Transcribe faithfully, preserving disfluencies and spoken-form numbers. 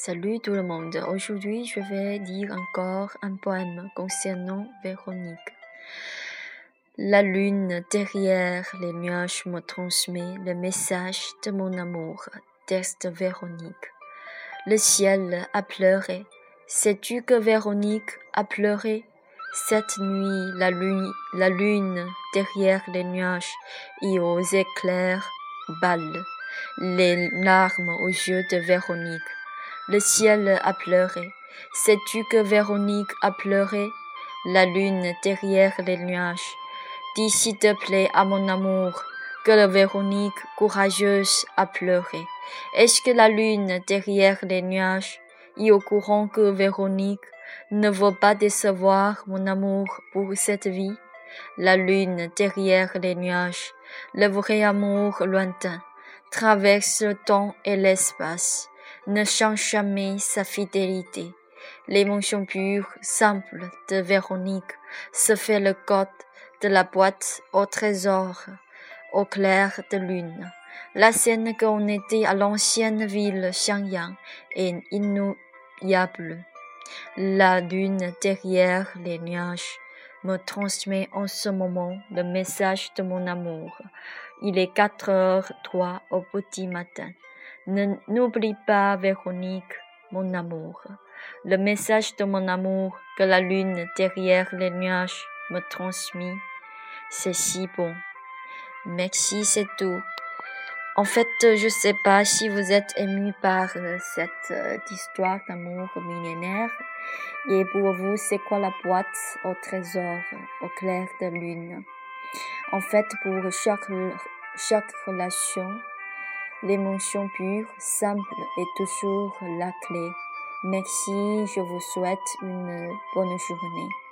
Salut tout le monde, aujourd'hui je vais dire encore un poème concernant Véronique. La lune derrière les nuages me transmet le message de mon amour, texte Véronique. Le ciel a pleuré, sais-tu que Véronique a pleuré? Cette nuit, la lune, la lune derrière les nuages et aux éclairs balle les larmes aux yeux de Véronique. Le ciel a pleuré. Sais-tu que Véronique a pleuré? La lune derrière les nuages. Dis s'il te plaît à mon amour que la Véronique courageuse a pleuré. Est-ce que la lune derrière les nuages est au courant que Véronique ne veut pas décevoir mon amour pour cette vie? La lune derrière les nuages, le vrai amour lointain, traverse le temps et l'espace, ne change jamais sa fidélité. L'émotion pure, simple de Véronique se fait le code de la boîte au trésor, au clair de lune. La scène qu'on était à l'ancienne ville Xiangyang est inoubliable. La lune derrière les nuages me transmet en ce moment le message de mon amour. Il est quatre heures trois au petit matin. Ne, n'oublie pas, Véronique, mon amour. Le message de mon amour que la lune derrière les nuages me transmet, c'est si bon. Merci, c'est tout. En fait, je sais pas si vous êtes ému par cette euh, histoire d'amour millénaire. Et pour vous, c'est quoi la boîte au trésor, au clair de lune? En fait, pour chaque, chaque relation, l'émotion pure, simple est toujours la clé. Merci, je vous souhaite une bonne journée.